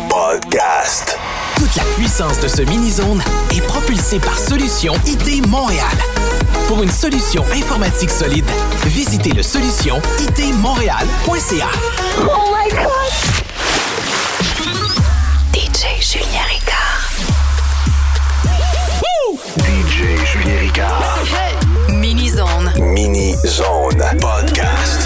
Podcast. Toute la puissance de ce mini-zone est propulsée par Solution IT Montréal. Pour une solution informatique solide, visitez le solutionitmontréal.ca. Oh my God! DJ Julien Ricard. DJ Julien Ricard. Mini-zone. Mini-zone. Podcast.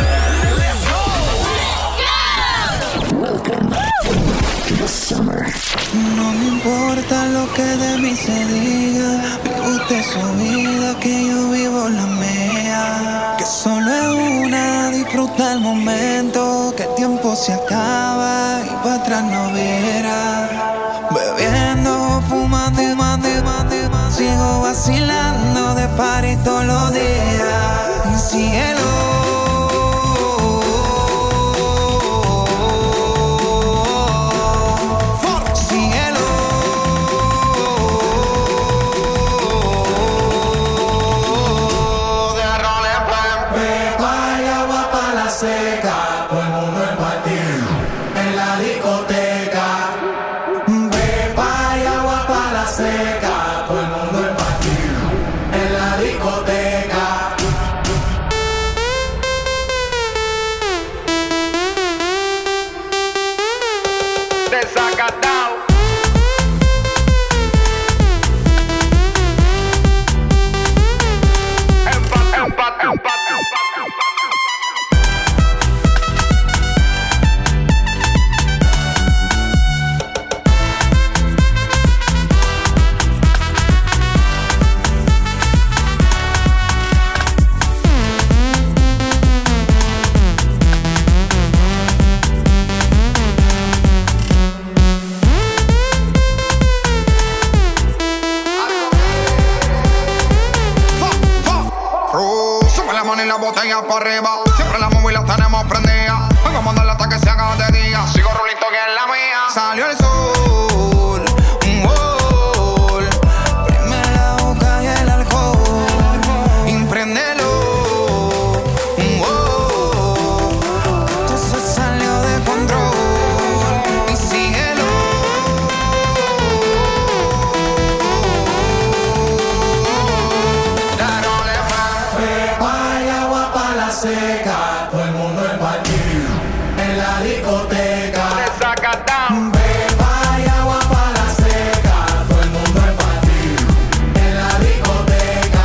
No me importa lo que de mí se diga, vive usted su vida, que yo vivo la mía. Que solo es una, disfruta el momento, que el tiempo se acaba y para atrás no verá. Bebiendo, fumando y más, sigo vacilando de party todos los días. Cielo. Para arriba, siempre la móvil la tenemos prendida. Vengo a mandarla hasta que se haga de día. Sigo rulito que es la mía. Salió el sol, un gol. Prime la boca y el alcohol. Impréndelo, un gol. Esto se salió de control. Y síguelo. Seca, todo el mundo en party, en la discoteca. Beba y agua pa' la seca, todo el mundo en party, en la discoteca.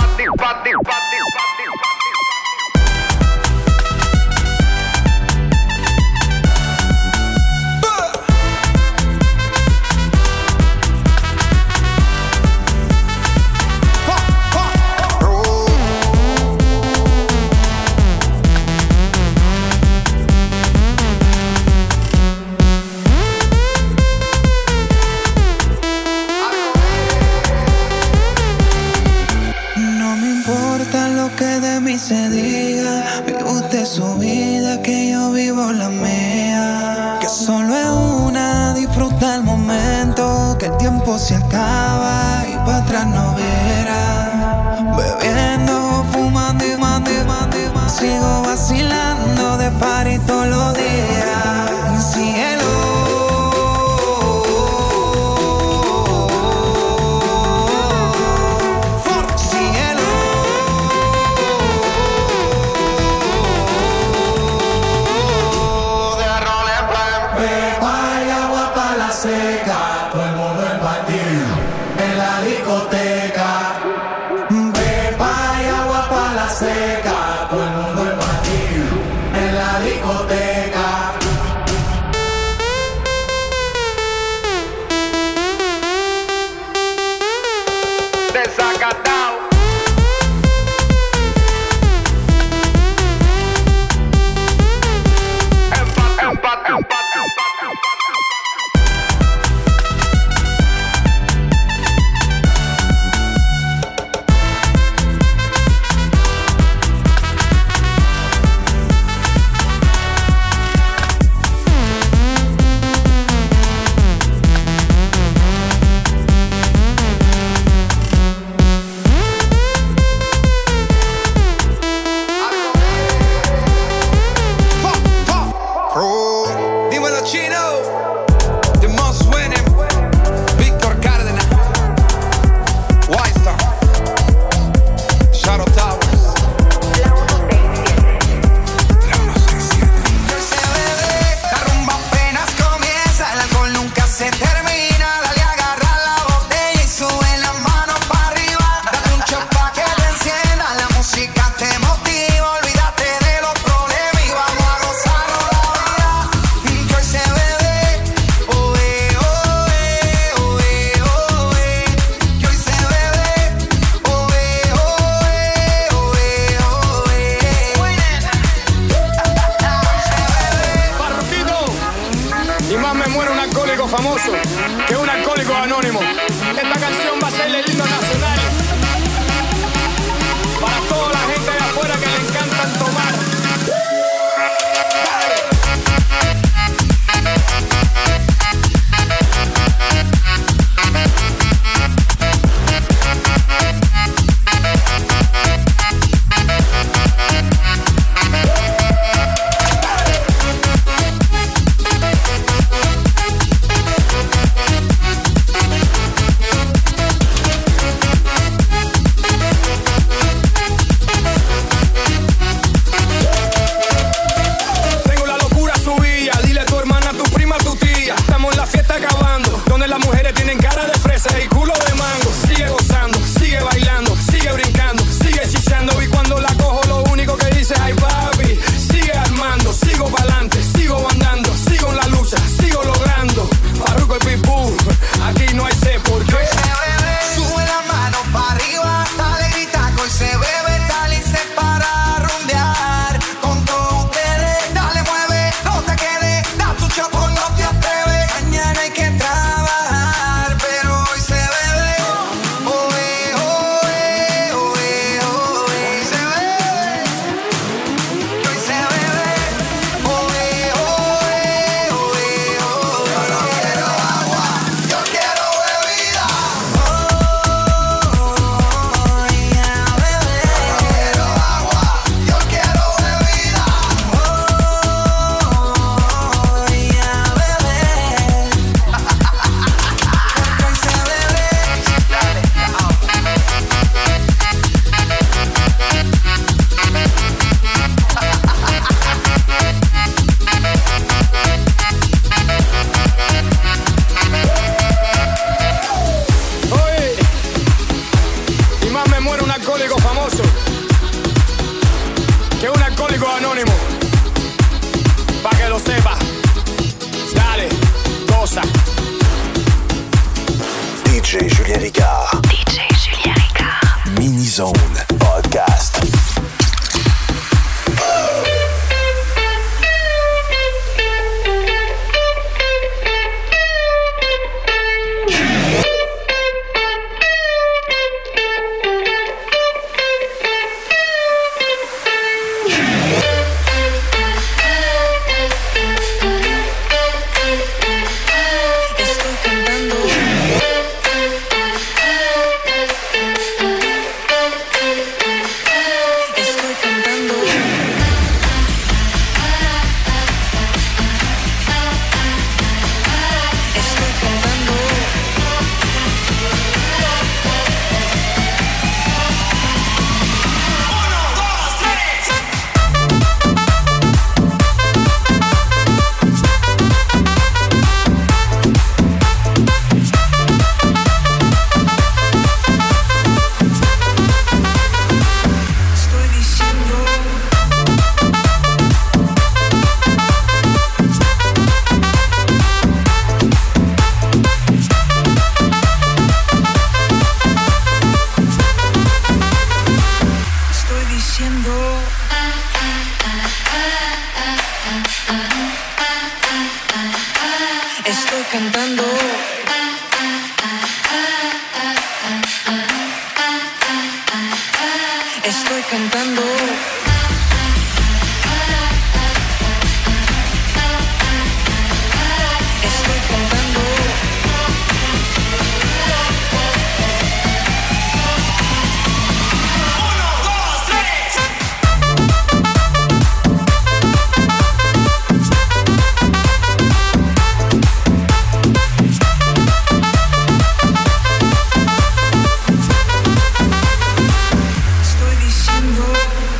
Se diga, vive usted su vida, que yo vivo la mía. Que solo es una, disfruta el momento, que el tiempo se acaba y para atrás no verá. Bebiendo, fumando y más, sigo vacilando de party todos los días. Cielo. Seca, todo el mundo en party, en la discoteca. Beba y agua pa' la seca, todo el mundo en party, en la discoteca. Desacatao. famoso que un alcohólico anónimo. Esta canción va a ser el himno nacional para toda la gente de afuera que le encantan tomar. DJ Julien Ricard. DJ Julien Ricard. Mini-Zone Podcast. Estoy cantando. Estoy cantando. Estoy cantando. Estoy diciendo.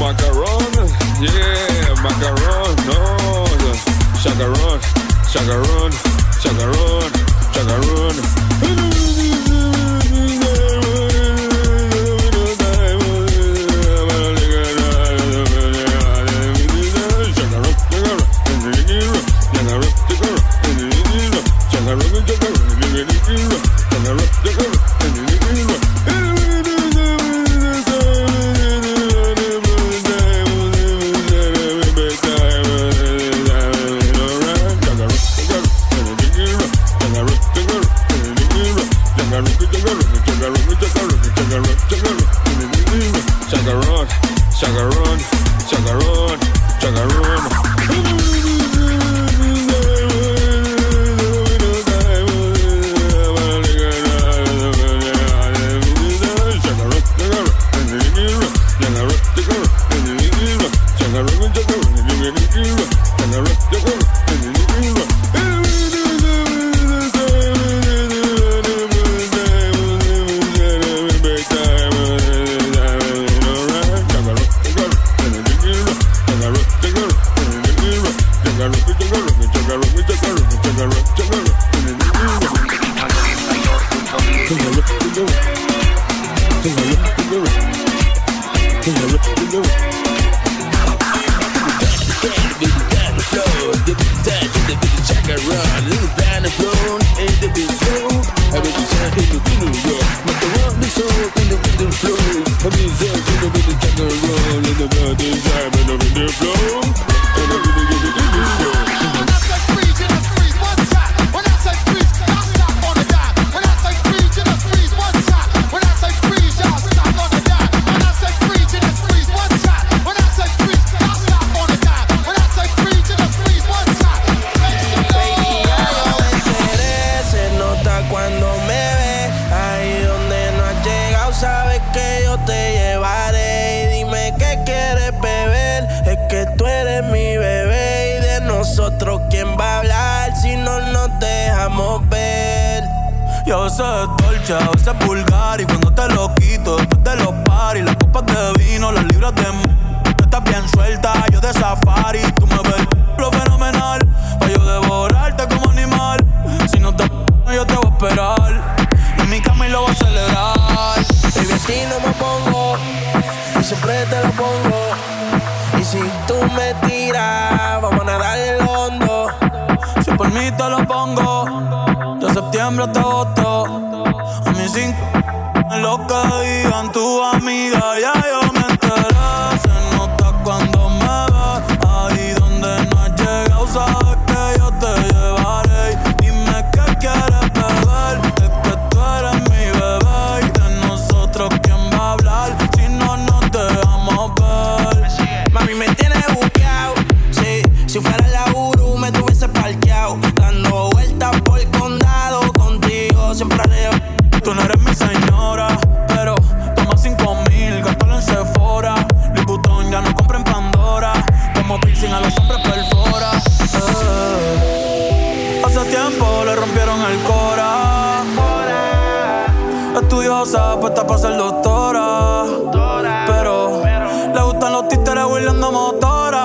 Macaron, yeah, macaron, no. Chacarón, chacarón, chacarón, chacarón. Chacarón, chacarón, chacarón. Yo sé dolce, a veces vulgar. Y cuando te lo quito, después de los paris, las copas de vino, las libras de tú estás bien suelta, yo de safari. Tú me ves lo fenomenal, pa' yo devorarte como animal. Si no te yo te voy a esperar. En mi cama y lo voy a celebrar. Baby, a ti no me pongo, y siempre te lo pongo. Y si tú me tiras, vamos a nadar en el hondo. Si por mí te lo pongo, de septiembre hasta agosto. A mí sin lo que digan tu amiga, ya yo me enteré. Se nota cuando me ves, ahí donde no has llegado, sabes que yo te llevaré. Dime qué quieres beber, es que tú eres mi bebé. Y de nosotros, ¿quién va a hablar? Si no nos dejamos ver. Mami, me tienes buqueado, sí. Si fuera la Uru, me tuviese parqueado, dando vueltas por el condado. Contigo siempre haré. Tú no eres mi señora, pero toma 5,000, gástalo en Sephora. Louis Vuitton ya no compra en Pandora. Como piercing a los hombres perfora. Hace tiempo le rompieron el cora. Estudiosa, puesta para ser doctora. Pero le gustan los títeres huirleando motora.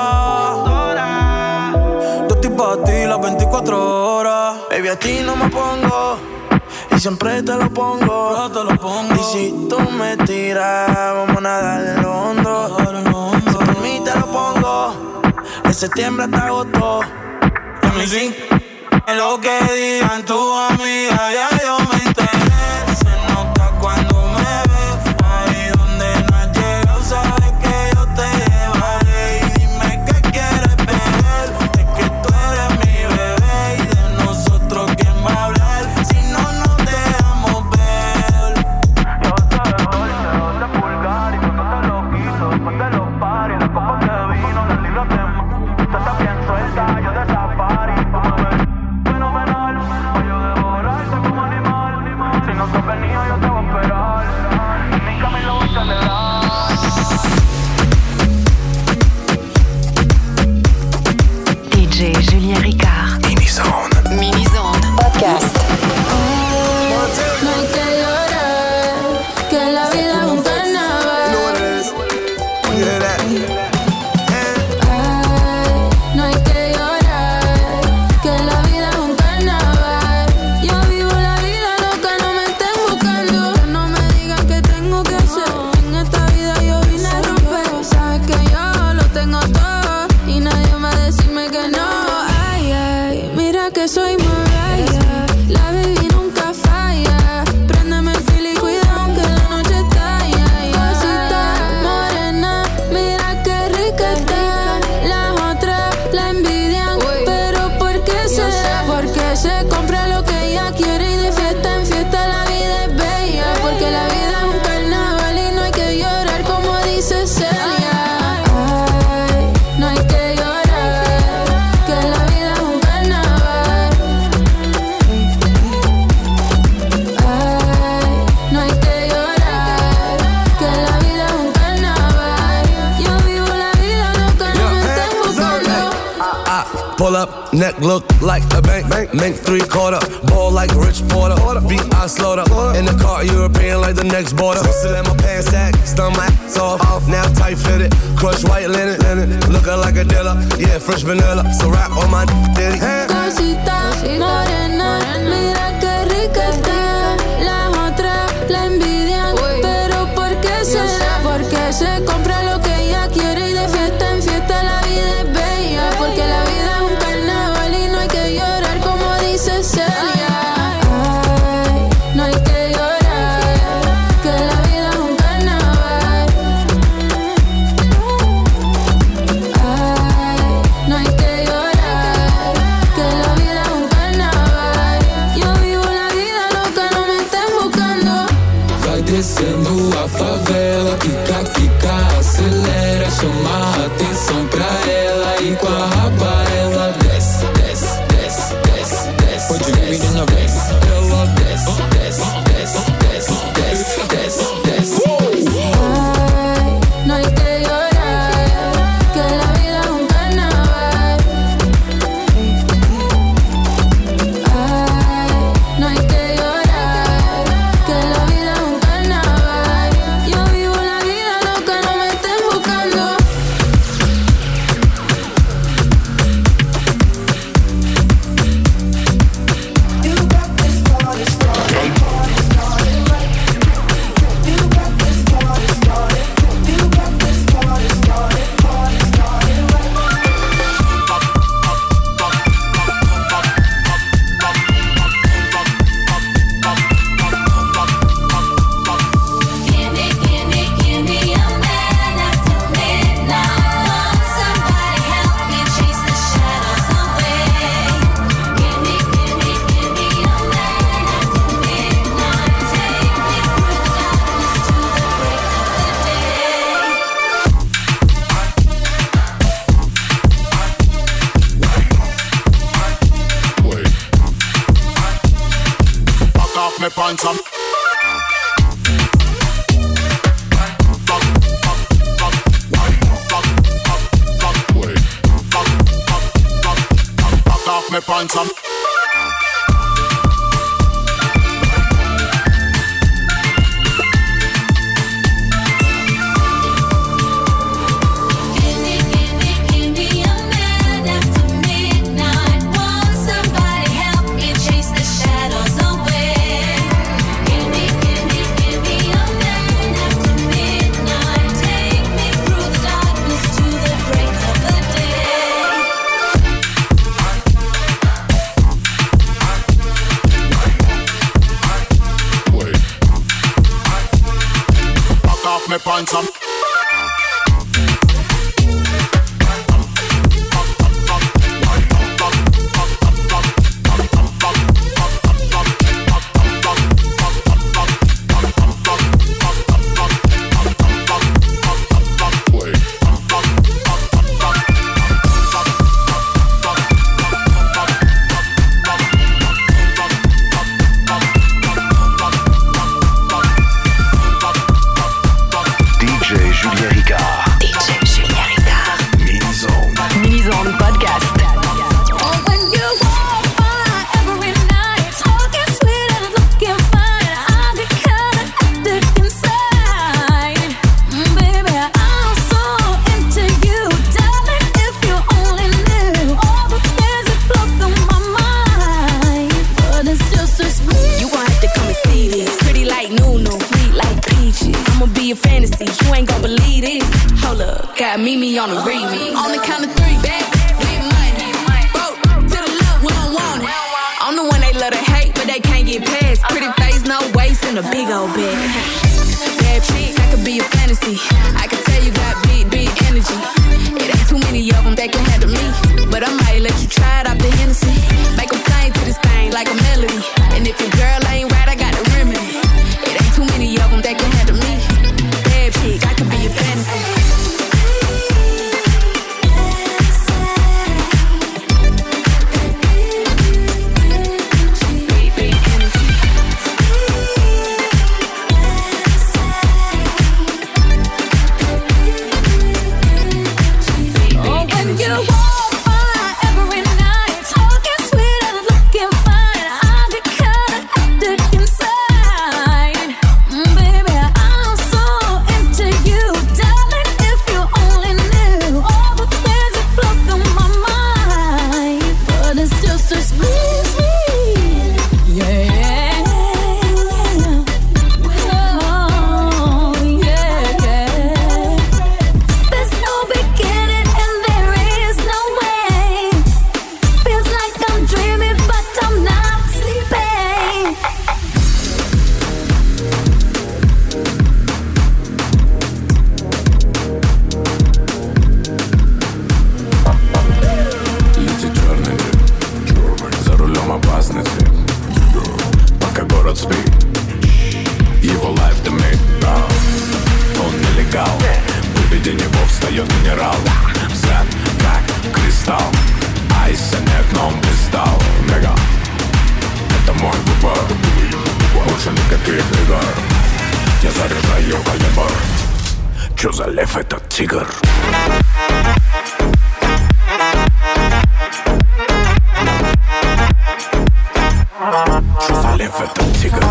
Yo estoy pa' ti las 24 horas. Baby, a ti no me pongo, y siempre te lo pongo. Yo te lo pongo. Y si tú me tiras, vamos a nadar en el hondo. Si por mí te lo pongo, de septiembre hasta agosto. A mí sí, en lo que digan tu amiga, ya yo me enteré. Se nota cuando me ves, ahí donde no has llegado, sabes que yo te llevaré. Y dime qué quieres beber, es que tú eres mi bebé. Y de nosotros, ¿quién va a hablar? Si no nos dejamos ver. Yo sé dolce, de vulgar. Y cuando te lo quito, después de los paris, las copas de vino, las libras de tú estás bien suelta, yo de safari. Fenomenal, pa' yo devorarte como Pull up, neck look like a bank. Make 3/4, ball like Rich Porter. Beat I slaughter. In the car, European like the next border. Still in my pants sack, stun my ass off. Now tight fitted, crush white linen. Looking like a dealer, yeah, fresh vanilla. So rap on my ditty. Cosita morena, mira qué rica está. Las otras la envidian, pero ¿por qué será? Porque se compra lo que ella quiere y de fiesta en fiesta la vida es bella. Porque la vida es un carnaval y no hay que llorar como dice Celia. Ay, no hay que llorar, que la vida es un carnaval. Ay, no hay que llorar, que la vida es un carnaval. Yo vivo la vida loca, no me estén buscando. Vai descendo a favela, quica, quica, acelera, chama a atenção pra ela e com a raba ela desce, desce, desce, desce, desce. Pode vir na vez, ela desce, desce, desce, desce, desce, desce, desce. Ay, no hay que llorar, que la vida es un carnaval. Ay, no hay que llorar, que la vida es un carnaval. Yo vivo la vida loca, no me estén buscando. Me pants up. Back off me pants up. Me pants up. Meet me on the remix. On the count of 3, back, get money. Broke to the left, we don't want it. I'm the one they love to hate, but they can't get past. Pretty face, no waist, and a big old bag. Bad chick, I could be a fantasy. I can tell you got big, big energy. It ain't too many of them that can handle me. But I might let you try it off the Hennessy. Make them sing to this thing like a melody. And if your girl ain't right, I got the remedy. It ain't too many of them that can handle me. Bad chick, I could be a fantasy. виде него встает генерал. Взгляд как кристалл, айса нет, но он блистал. Мега, это мой выбор, больше никаких игр. Я заряжаю калибр. Чё за лев этот тигр? Чё за лев этот тигр?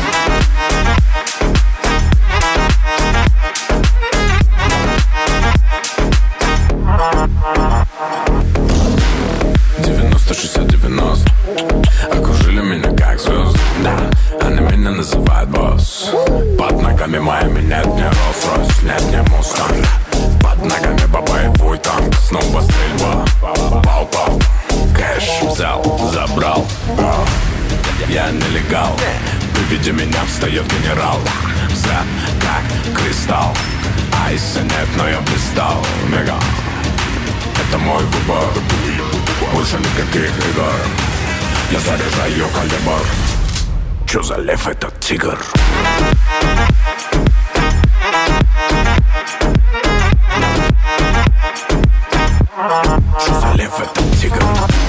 Окружили меня как звезды, да, они меня называют босс. Под ногами моими нет ни Rolls-Royce, нет ни Mustang. Под ногами боевой танк, снова стрельба. Пау-пау, кэш взял, забрал. Я нелегал, при виде меня встает генерал. Взгляд как кристалл, айса нет, но я блистал. Мега, это мой выбор, больше никаких игр. Я заряжаю калибр. Чё за лев этот тигр? Чё за лев этот тигр?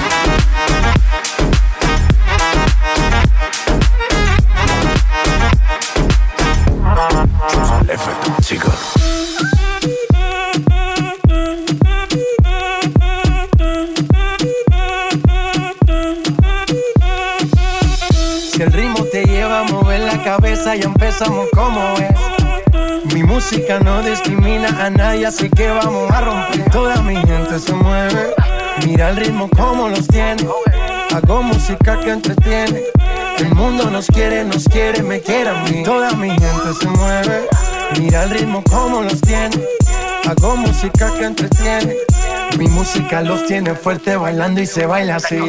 Чё за лев этот тигр? Si el ritmo te lleva a mover la cabeza, ya empezamos como es. Mi música no discrimina a nadie, así que vamos a romper. Toda mi gente se mueve, mira el ritmo como los tiene. Hago música que entretiene. El mundo nos quiere, me quiere a mí. Toda mi gente se mueve, mira el ritmo como los tiene. Hago música que entretiene. Mi música los tiene fuerte bailando y se baila así.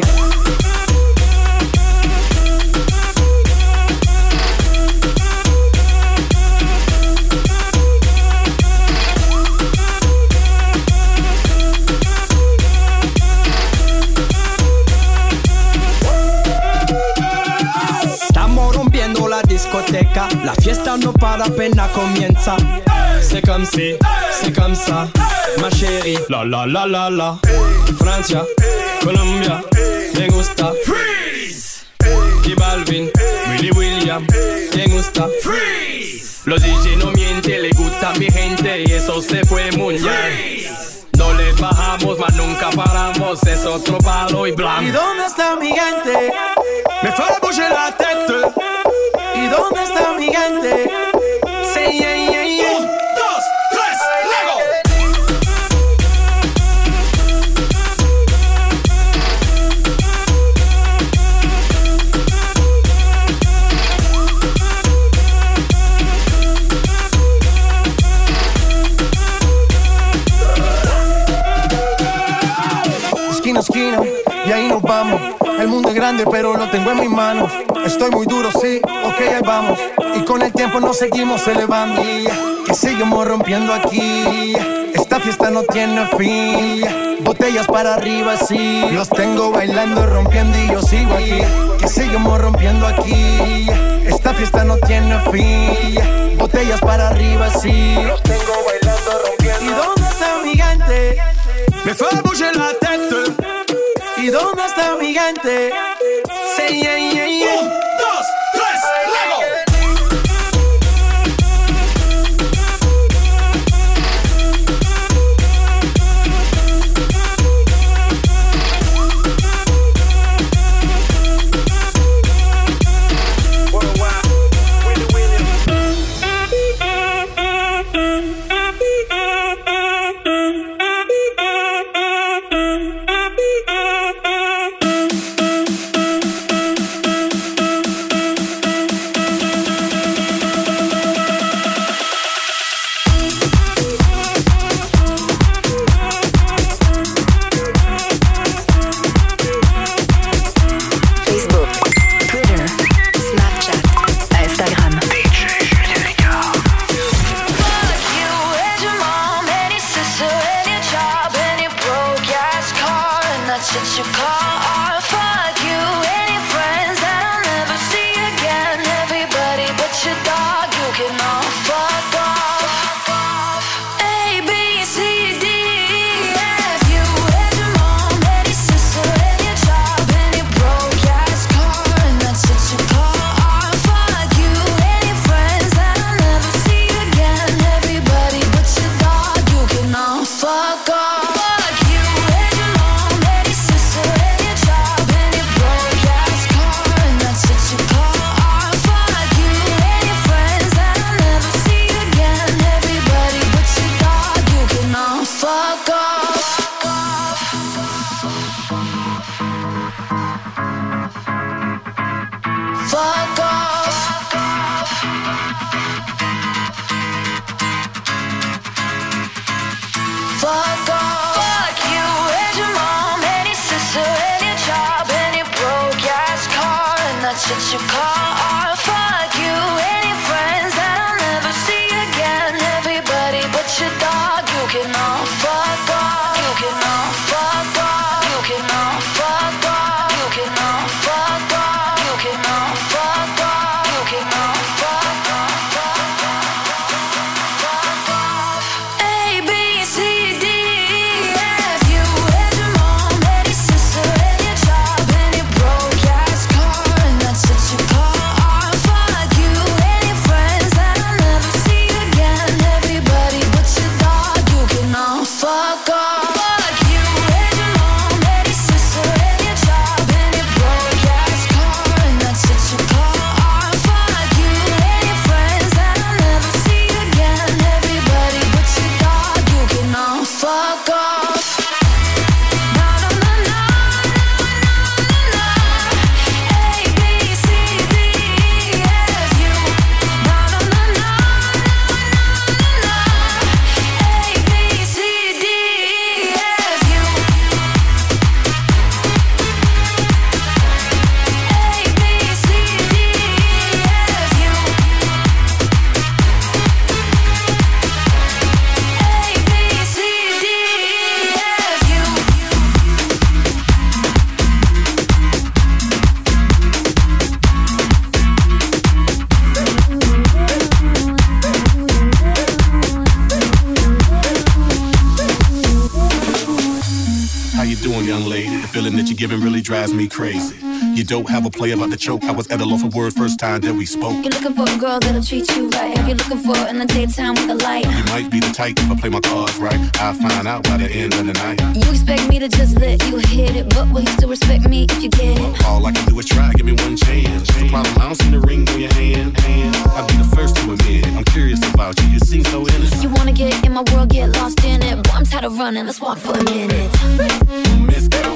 La fiesta no para, apenas comienza. C'est comme si, c'est comme ça, ma chérie. La la la la la. Francia, Colombia, me gusta. Freeze. Y Balvin, Willy William, me gusta. Freeze. Los DJ no mienten, le gusta mi gente y eso se fue muy bien. No le bajamos, mas nunca paramos, es otro palo y blanco. ¿Y dónde está mi gente? Me fue a bouger la tête. ¿Y dónde está mi gente? Sí, yeah, yeah, yeah. 1, 2, 3, Lego. Esquina a esquina, y ahí nos vamos. El mundo es grande, pero lo tengo en mis manos. Estoy muy duro, sí, ok, ahí vamos. Y con el tiempo nos seguimos elevando. Que seguimos rompiendo aquí. Esta fiesta no tiene fin. Botellas para arriba, sí. Los tengo bailando, rompiendo y yo sigo aquí. Que seguimos rompiendo aquí. Esta fiesta no tiene fin. Botellas para arriba, sí. Los tengo bailando, rompiendo. ¿Y dónde está mi gente? Me fue a bouger la tête. ¿Y dónde está mi gente? Sí, yeah, yeah, yeah. 1, 2, 3, Lego. A, B, fuck off. Fuck you and your mom, and your sister, and your job, and your broke ass car, and that's what you call art. Fuck you and your friends that I'll never see again. Everybody but your dog, you can all fuck off. You can all fuck off. You can all fuck off. You can all fuck off. You can all fuck off. You can all fuck off. A, B, C, D, E, F. You and your mom, and your sister, and your job, and your broke ass car, and that's what you call art. Fuck you and your friends that I'll never see again. Everybody but your dog, you can all fuck off. Fuck you and your mom, and your sister, and your job, and your broke ass car, and that's what you call art. Fuck you and your friends that I'll never see again. Everybody but your dog, you can all fuck off. Na na na na na na. A, B, C, D, E, F, U. Na na na na na na. A, B, C, D, E, F, U. A, B, C, D, E, F, U. A, B, C, D, E, F, U. How you doing, young lady? The feeling that you're giving really drives me crazy. You don't have a play about the choke. I was at a loss of words first time that we spoke. You're looking for a girl that'll treat you right. You're looking for in the daytime with the light. You might be the type if I play my cards right. I'll find out by the end of the night. You expect me to just let you hit it, but will you still respect me if you get it? All I can do is try, give me one chance. The problem, I don't see the ring on your hand. I'll be the first to admit it. I'm curious about you, you seem so innocent. You wanna get in my world, get lost in it. Boy, I'm tired of running, let's walk for a minute. Miss Girl,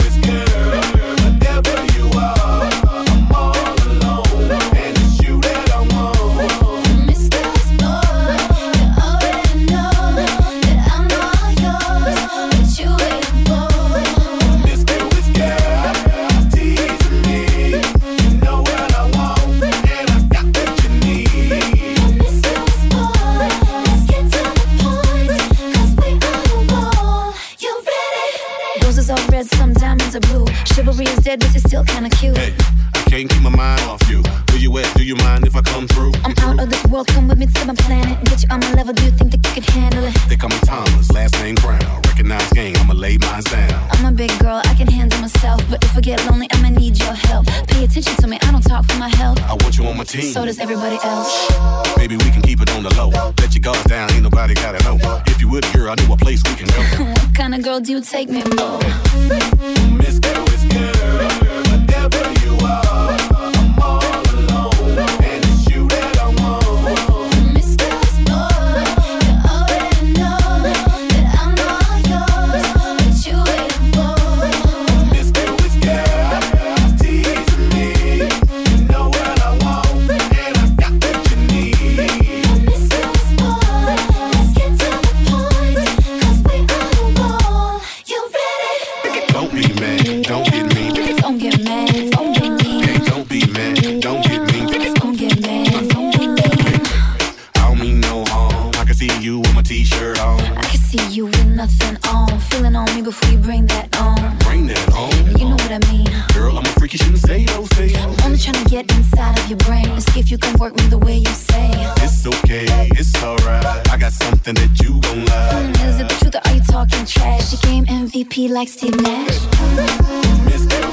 whatever you are, I'm all alone, and it's you that I want. Miss Girl's boy, you already know that I'm all yours. What you waiting for? Miss Girl, teasing me. You know what I want, and I got what you need. Miss Girl's boy, let's get to the point, 'cause we on a roll. You ready? Roses are red, some diamonds are blue. Chivalry is dead, but you're still kinda cute. Hey, I can't keep my mind off you. Where you at? Do you mind if I come through? I'm out of this world, come with me to my planet. Get you on my level, do you think that you could handle it? They call me Thomas, last name Brown. Recognize game, I'ma lay mine down. I'm a big girl, I can handle myself. But if I get lonely, I'ma need your help. Pay attention to me, I don't talk for my health. I want you on my team. So does everybody else. Baby, we can keep it on the low. Let your guards down, ain't nobody gotta know. If you would, girl, I know a place we can go. What kind of girl do you take me for? Miss Girl, whatever you are, I'm all alone, and it's you that I want. Miss Girl's boy, you already know that I'm all yours. What you waiting for? Miss Girl, teasing me. You know what I want, and I got what you need. Miss Girl's boy, let's get to the point, 'cause we on a roll. You ready? Don't be mad, don't get me. Don't get mad, don't get me. Hey, don't be mad, don't get me. Don't get mad, don't get me. I don't mean no harm. I can see you with my t-shirt on. I can see you with nothing on. Feeling on me before you bring that on. Bring that on. You know what I mean. Girl, I'm a freak, you shouldn't say those things. I'm only trying to get inside of your brain and see if you can work me the way you say. It's okay, it's alright. I got something that you gon' like. Is it the truth or are you talking trash? You game MVP like Steve Nash. Miss Girl,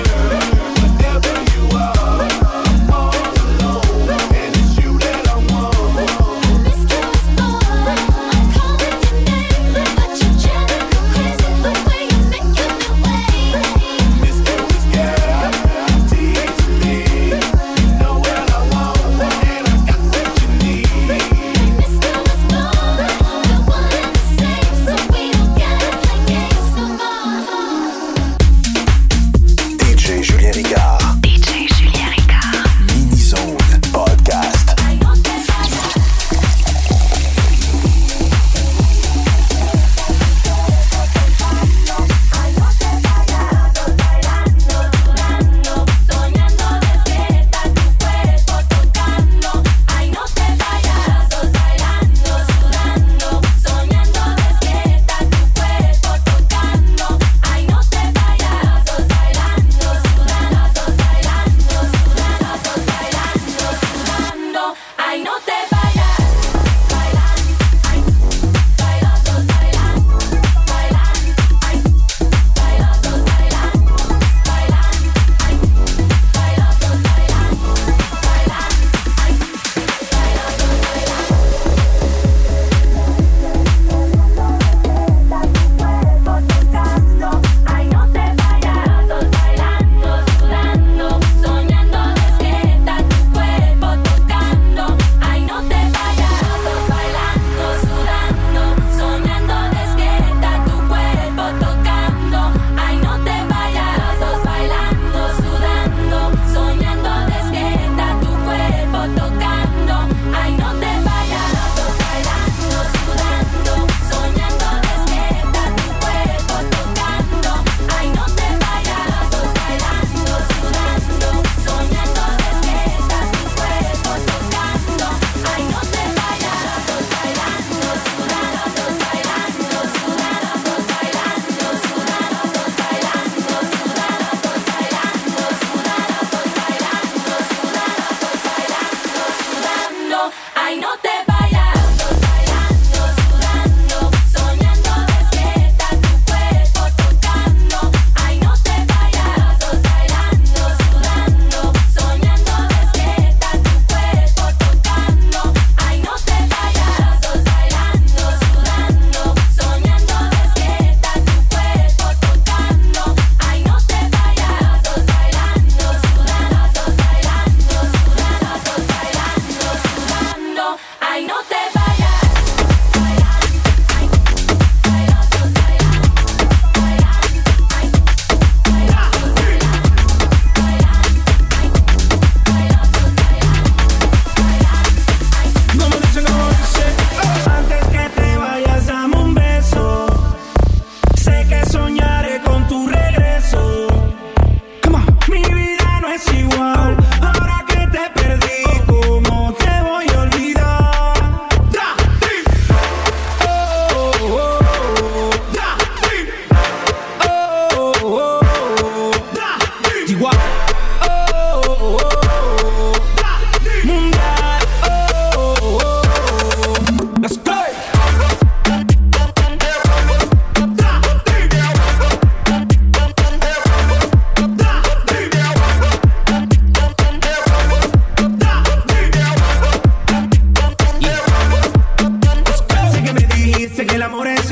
whatever you are, I'm all alone, and it's you that I want. Miss Girl's boy, I'm calling your name, but you're driving me crazy the way you make me wait. Miss Girl, teasing me. You know what I want, and I got what you need. Miss Girl's boy, we're one and the same, so we don't gotta play games no more. DJ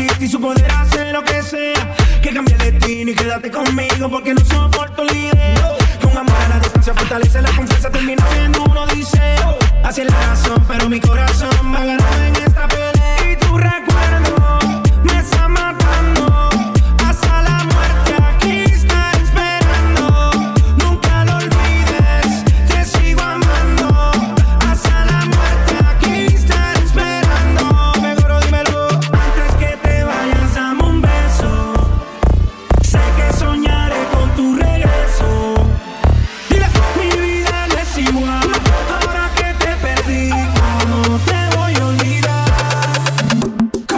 existe y su poder hace lo que sea. Que cambie el destino y quédate conmigo porque no soporto la idea. Que un amor a la distancia fortalece la confianza, termina siendo un odiseo. Así es la razón, pero mi corazón va a ganar en esta pelea. Y tu recuerdo me está matando. Hasta la muerte aquí está esperando. Nunca lo olvides, te sigo amando. Hasta la muerte aquí está esperando. Mejor dímelo antes que te vayas, dame un beso. Sé que soñaré con tu regreso. Dile, mi vida no es igual. Ahora que te perdí, ¿cómo te voy a olvidar?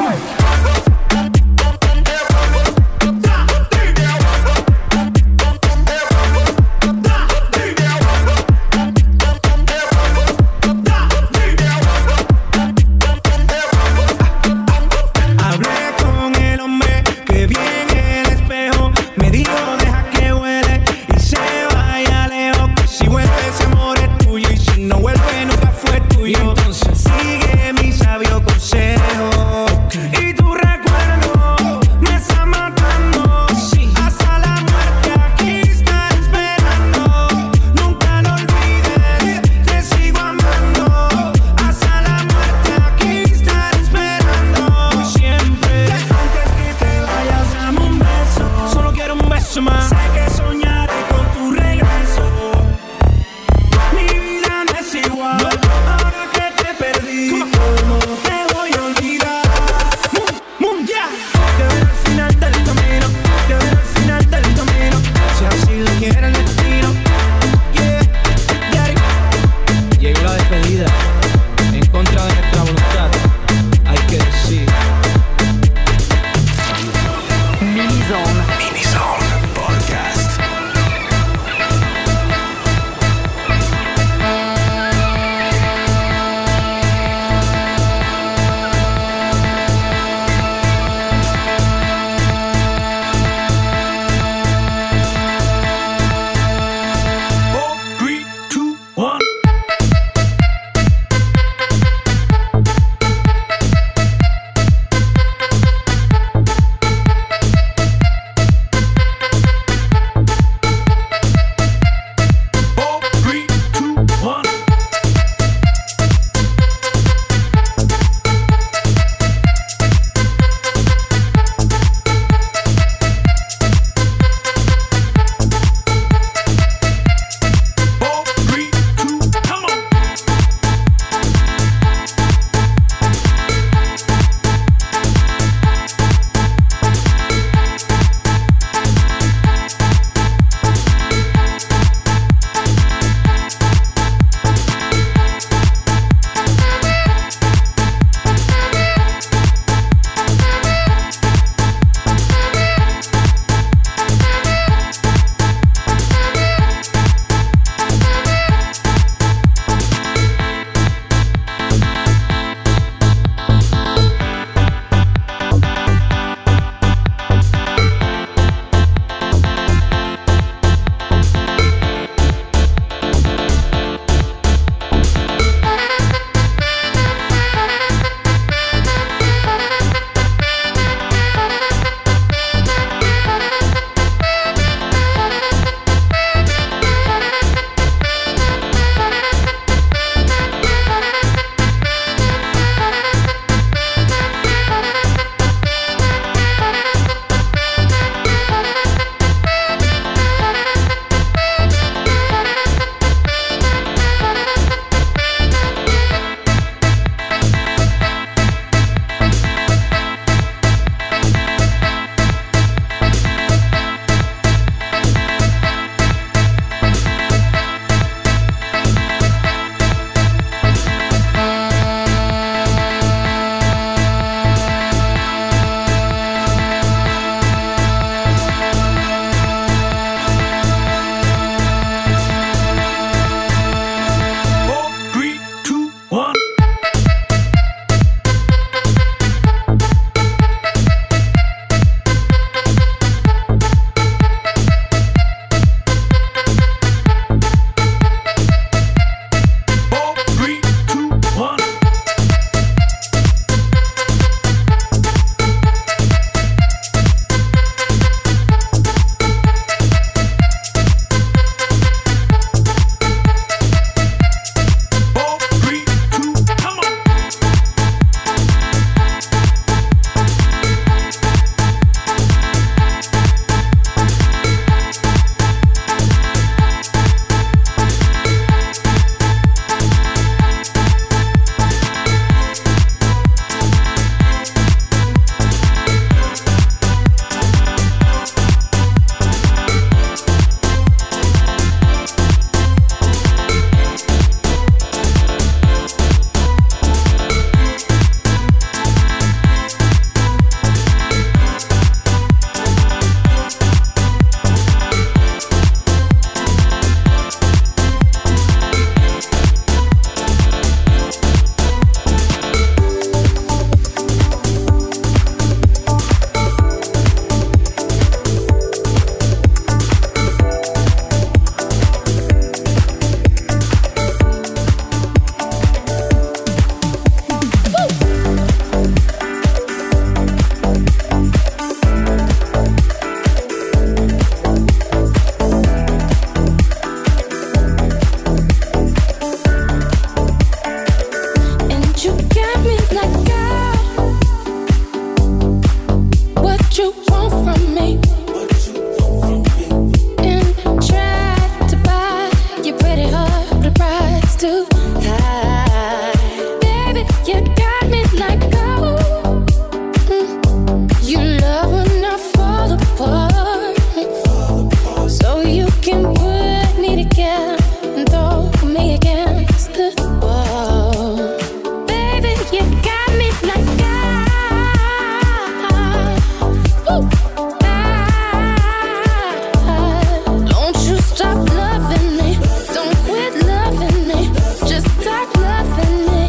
Don't you stop loving me. Don't quit loving me. Just start loving me.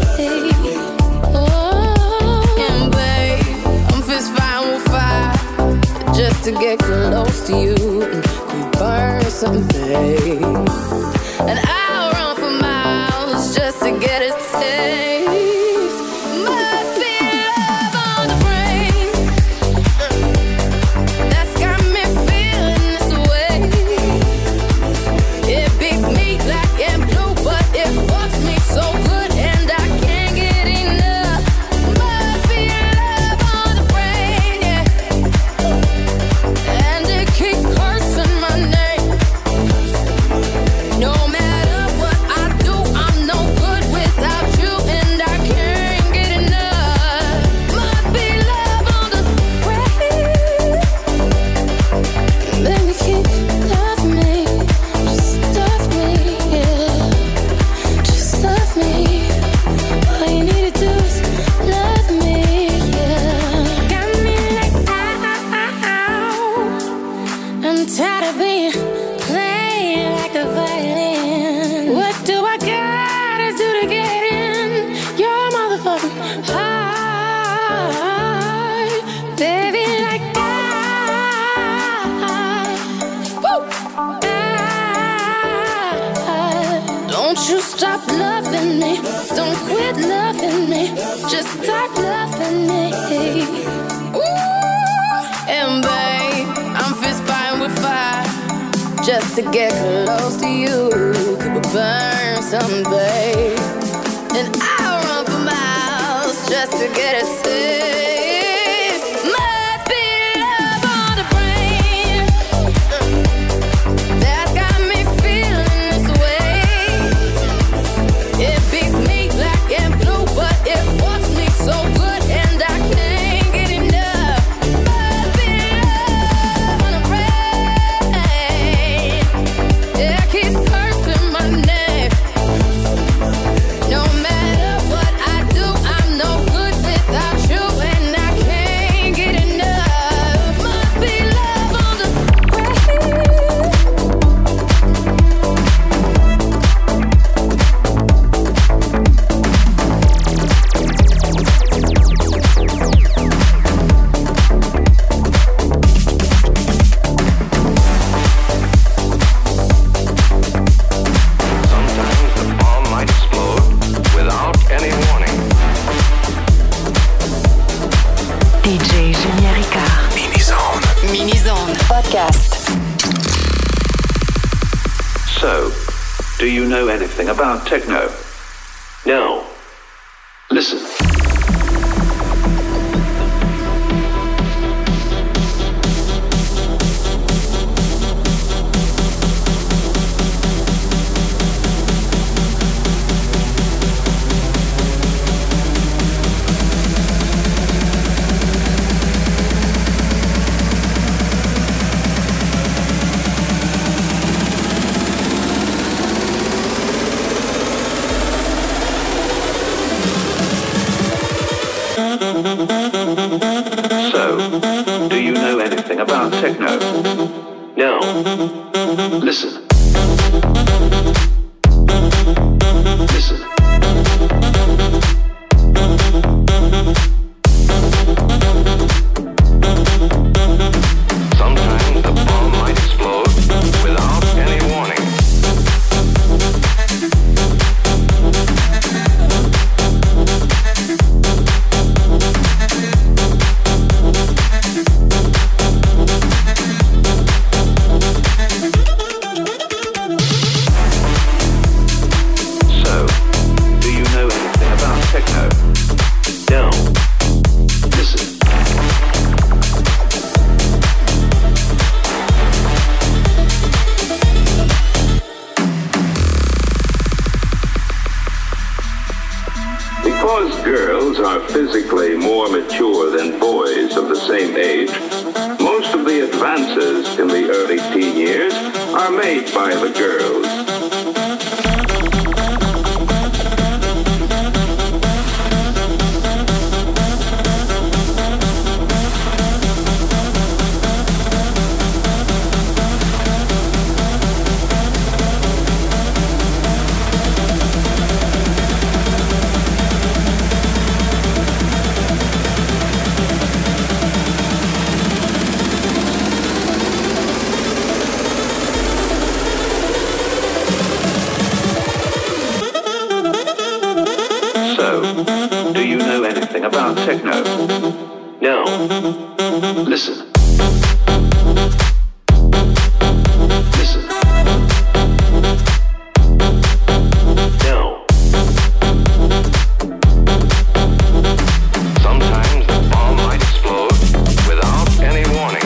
Oh, and babe, I'm fist fighting with fire just to get close to you. We burn something, and I'll run for miles just to get a taste. Must be love on the brain that's got me feeling this way. It beats me black and blue, but it fucks me so good, and I can't get enough. Must be love on the brain, yeah. And it keeps cursing my name. No matter what I do, I'm no good without you, and I can't get enough. Must be love on the brain. Baby, keep loving me. Just love me, yeah. Just love me. All you need to do is love me, yeah. Got me like ow. I'm tired of being played like a violin. What do I gotta do to get in your motherfucking heart? Baby, like woo. Don't you stop loving me. Don't quit loving me. Just start loving me. Ooh. And babe, I'm fist fighting with fire just to get close to you. Keep it burn some, babe. And I'll run for miles just to get a taste. Must be love on the brain that's got me feeling this way. It beats me black and blue, but it fucks me so good, and I can't get enough. Must be love on the brain. Yeah, keep cursing my name. No matter what I do, I'm no good without you, and I can't get enough. Must be love on the brain. Sometimes the bomb might explode without any warning. DJ Julien Ricard. Mini-zone. Mini-zone. Podcast. So, do you know anything about techno? No. Listen. So, do you know anything about techno? No. Listen. Listen. Sometimes the bomb might explode without any warning. Because girls are physically more mature than boys of the same age, most of the advances in the early teen years are made by the girls. something about techno. No. Listen. Listen. No. Sometimes the bomb might explode without any warning.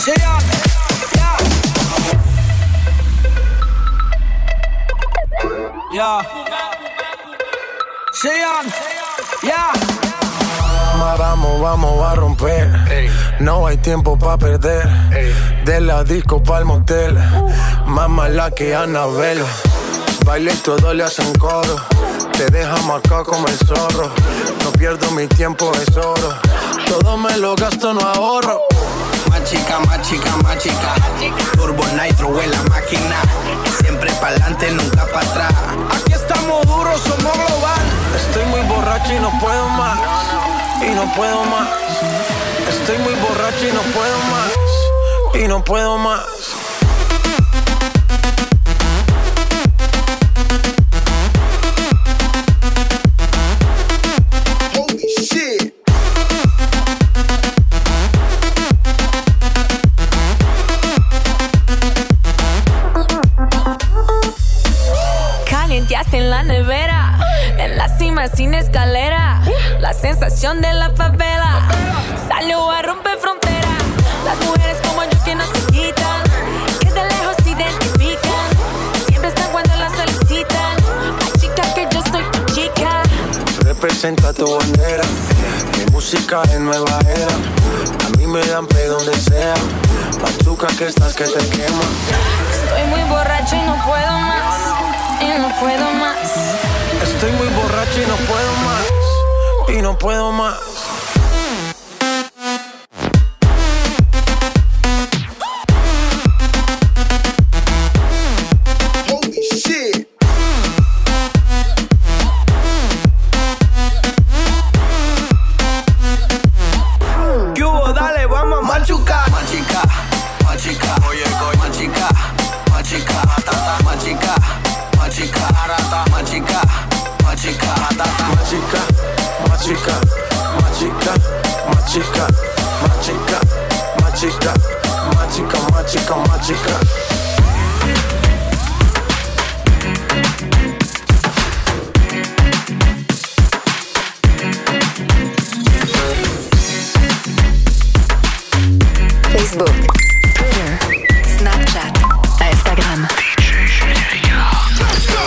Chillin', yeah. Chillin', yeah. Vamos a romper. No hay tiempo pa' perder. De la disco pa'l motel. Más mala que Annabelle. Baile y todo le hacen coro. Te deja marcado como el zorro. No pierdo mi tiempo, es oro. Todo me lo gasto, no ahorro. Machica, machica, machica. Turbo Nitro en la máquina. Siempre pa'lante, nunca pa' atrás. Aquí estamos duros, somos global. Estoy muy borracho y no puedo más. Y no puedo más. Estoy muy borracho y no puedo más. Y no puedo más. Holy shit. Calienteaste en la nevera, en la cima sin escalera. La sensación de la favela salió a romper frontera. Las mujeres como yo que no se quitan, que de lejos se identifican. Siempre están cuando las solicitan. Ay, chica, que yo soy tu chica. Representa tu bandera. Mi música es nueva era. A mí me dan play donde sea. Machuca que estás que te quema. Estoy muy borracho y no puedo más. Y no puedo más. Estoy muy borracho y no puedo más. Y no puedo más. Holy shit. ¿Qué hubo? Dale, vamos a machucar. Machica, machica, oye, machica, machica, matata, machica, machica, arata, machica, machica, matata, Machica, machica, machica, machica, machica, machica, machica, machica, machica. Facebook, Twitter, Snapchat, Instagram. DJ Julien Ricard.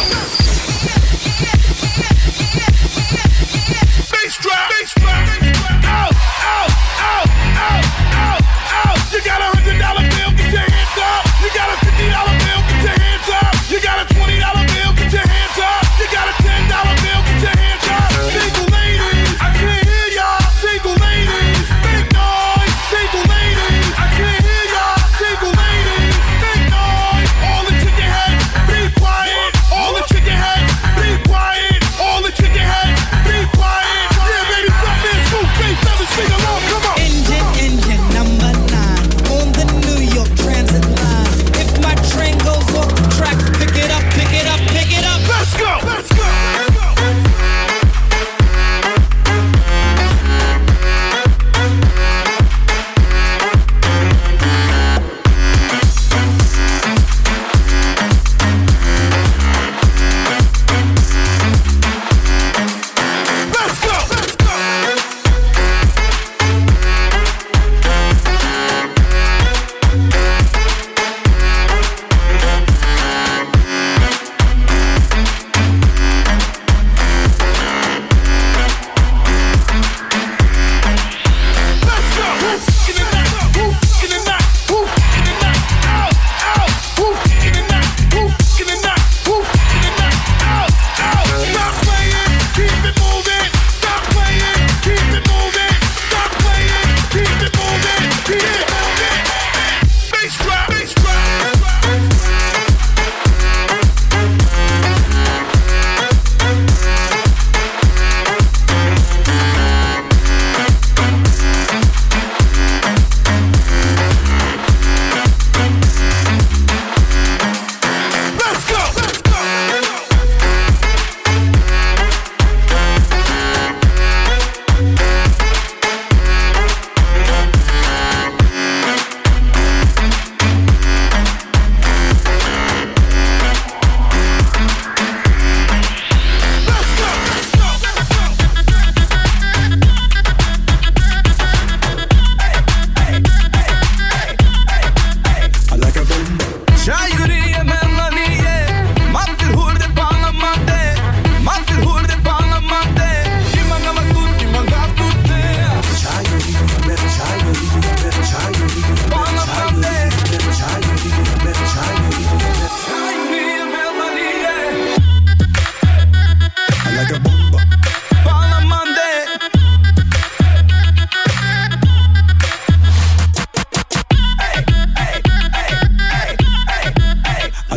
Bass drop, bass drop. Out, out, out, out, out, out. You got $100 bill, get your hands up. You got a $50 bill, get your hands up. You got a $20 bill, get your hands up. You got a $10 bill, get your hands up. Single ladies, I can't hear y'all. Single ladies, big noise. Single ladies, I can't hear y'all.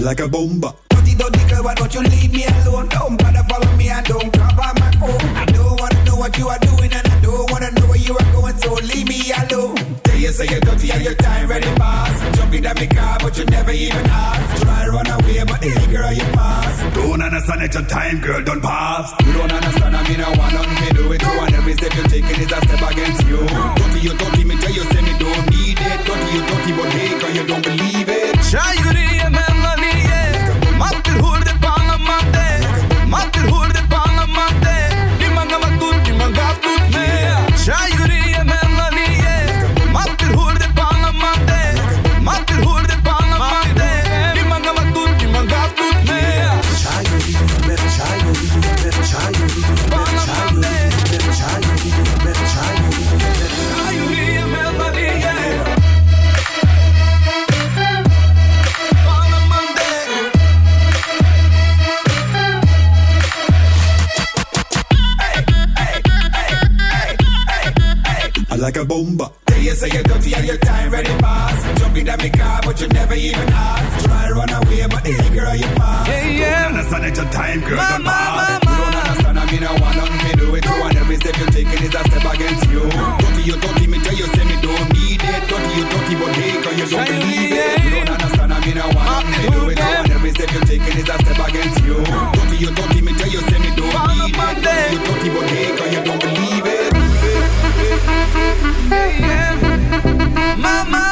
like a bomba. Dirty girl, why don't you leave me alone? Don't bother follow me and don't grab on my phone. I don't wanna know what you are doing and I don't wanna know where you are going, so leave me alone. Tell you say you're dirty and your time ready pass. Jump in my car but you never even ask. Try run away but hey girl you pass. Don't understand that your time girl don't pass. You don't understand I mean I want nothing to do with you. And every step you're taking is a step against you. Dirty, me tell you say me don't need it. Dirty but hey girl you don't believe it. Shayuri melody, matil hurde palamante, matil hurde palamante. Dimanga matut me. Shayuri melody, matil hurde palamante, matil hurde palamante. Dimanga matut me. Shayuri melody, like a bomba. Tell you say you're dirty and your time ready pass. Jump in my car but you never even ask. Try run away but hey girl you pass. Don't understand that your time girl don't pass. You don't understand I mean I want nothing to do with you. And every step you're taking is a step against you. Dirty, me tell you say me don't need it. Dirty but hey girl you don't believe it. You don't understand I mean I want nothing to do with you. And every step you're taking is a step against you. Dirty, me tell you say me don't need it. Dirty but hey girl you don't believe it. Mama.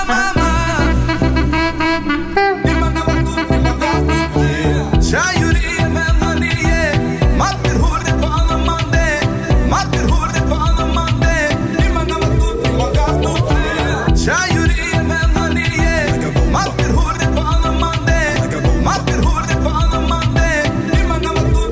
Shayuri melody, matil hurde palamante, matil hurde palamante. Dimanga matut. Shayuri melody, matil hurde palamante, matil hurde palamante. Dimanga matut.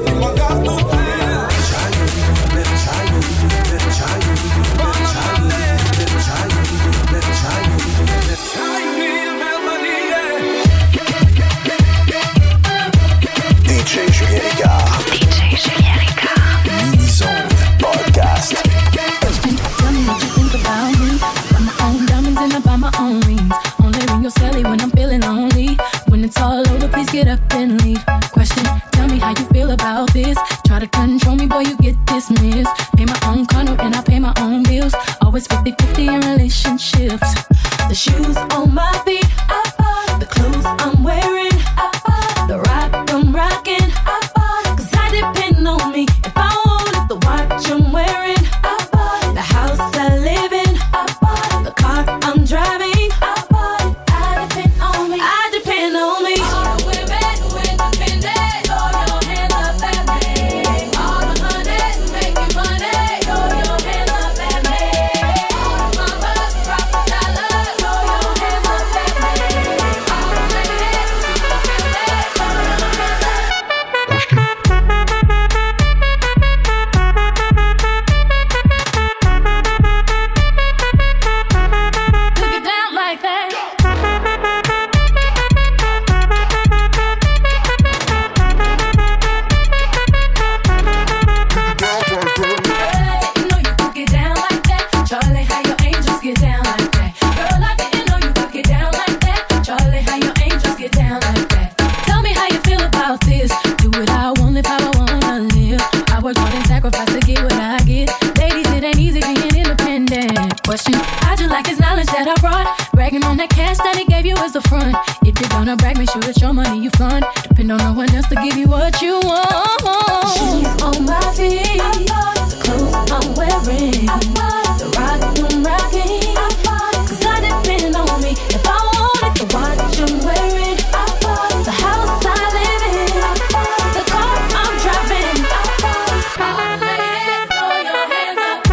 DJ Julien Ricard. Mini-zone podcast. Tell me what you think about me. Buy my own diamonds and I buy my own rings. Only ring your celly when I'm feeling lonely. When it's all over, please get up and leave. Question, tell me how you feel about this. Try to control me, boy, you get dismissed. Pay my own condo and I pay my own bills. Always 50-50 in relationships. The shoes on my feet, the clothes I'm wearing, the rock I'm rocking, 'cause I depend on me. If I wanted the watch I'm wearing, the house I live in, the car I'm driving, I depend on me. I depend on me. All the women who independent, throw your hands up at me. All the honeys who making money, throw your hands up at me. All the mamas who drop a dollar, throw your hands up at me. All the ladies who independent, throw your hands up. Look it down like that. You know you could get down like that. Charlie, how your angels get down like that. Girl, I didn't know you could get down like that. Charlie, how your angels get down like that. Tell me how you feel about this. Do what I want, live how I wanna live. I work hard and sacrifice to get what I get. Ladies, it ain't easy being independent. Question, how'd you like his knowledge that I brought? Bragging on that cash that he gave you as a front. If you're gonna brag, make sure it's your money you fund. Depend on no one else to give you what you want. Shoes on my feet, the clothes I'm wearing, the rock I'm rocking, 'cause I depend on me. If I wanted the watch I'm wearing, the house I live in, the car I'm driving. All the ladies, throw your hands up.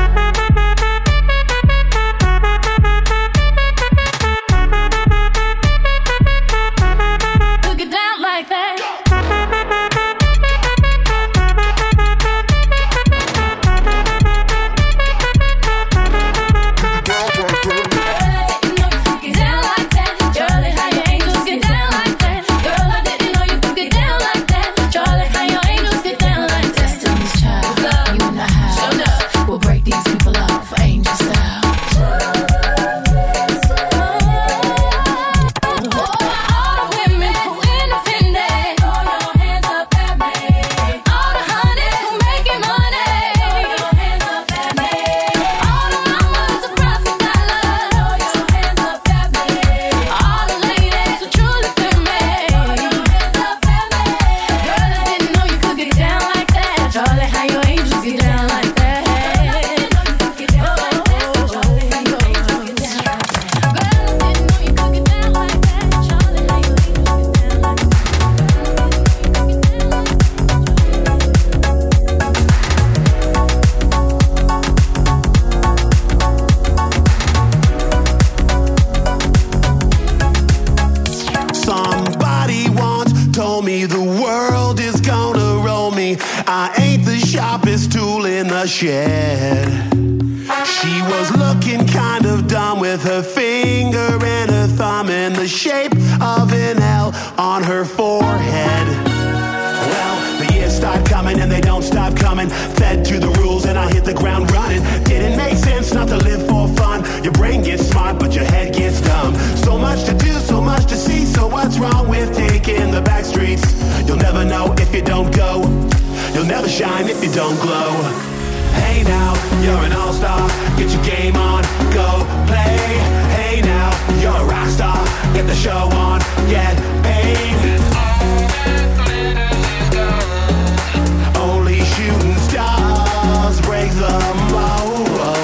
Look it down like that. shed. She was looking kind of dumb with her finger and her thumb in the shape of an L on her forehead. Well, the years start coming and they don't stop coming. Fed to the rules and I hit the ground running. Didn't make sense not to live for fun. Your brain gets smart but your head gets dumb. So much to do, so much to see. So what's wrong with taking the back streets? You'll never know if you don't go. You'll never shine if you don't glow. Hey now, you're an all-star. Get your game on, go play. Hey now, you're a rock star. Get the show on, get paid. Only shooting stars break the mold.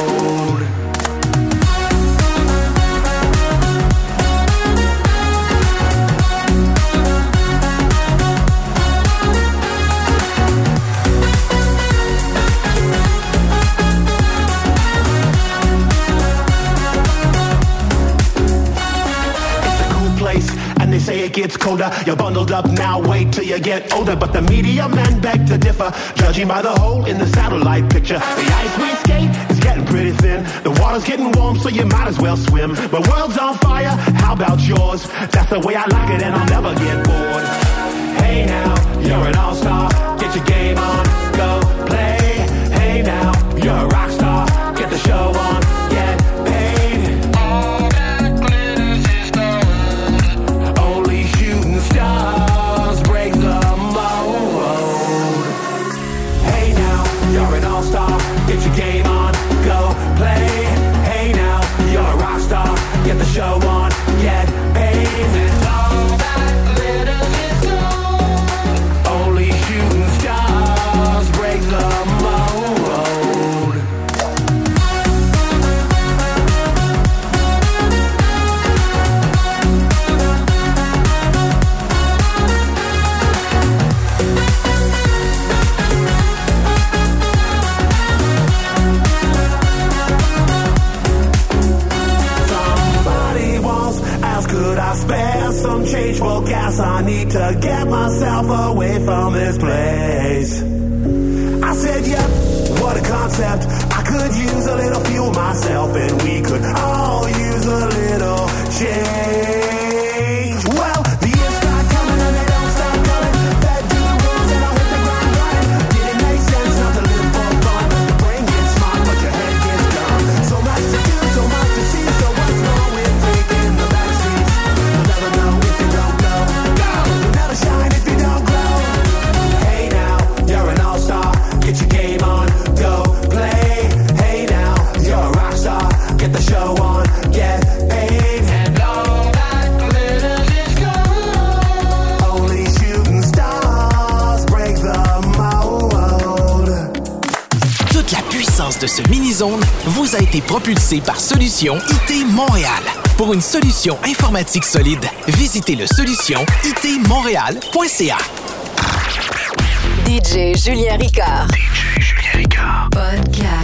They say it gets colder, you're bundled up now, wait till you get older. But the media men beg to differ, judging by the hole in the satellite picture. The ice we skate is getting pretty thin. The water's getting warm, so you might as well swim. My world's on fire, how about yours? That's the way I like it and I'll never get bored. Hey now, you're an all-star, get your game on, go play. Hey now, you're a rock star, get the show on, get paid. Stars break the mold. Hey now, you're an all-star. Get your game on, go play. Hey now, you're a rock star. Get the show on, get paid. And all that glitters is gold. Only shooting stars break the mold. Could I spare some change for gas? I need to get myself away from this place. I said, yep, what a concept. I could use a little fuel myself and we could all use a little change. Well, the years start coming and they don't stop coming. Fed to the rules and I'll hit the ground running. Didn't make sense not to live for fun. The brain gets smart but your head gets dumb. So much to do, so much to see. So what's wrong with taking the back streets? You'll never know if you don't go. You'll never shine if you don't glow. Hey now, you're an all-star. Get your game on, go play. Hey now, you're a rock star. Get the show on, get paid. And all that glitters is gold. Only shooting stars break the mold. Toute la puissance de ce mini-zone vous a été propulsée par Solution IT Montréal. Pour une solution informatique solide, visitez le solutionitmontréal.ca. DJ Julien Ricard. Podcast.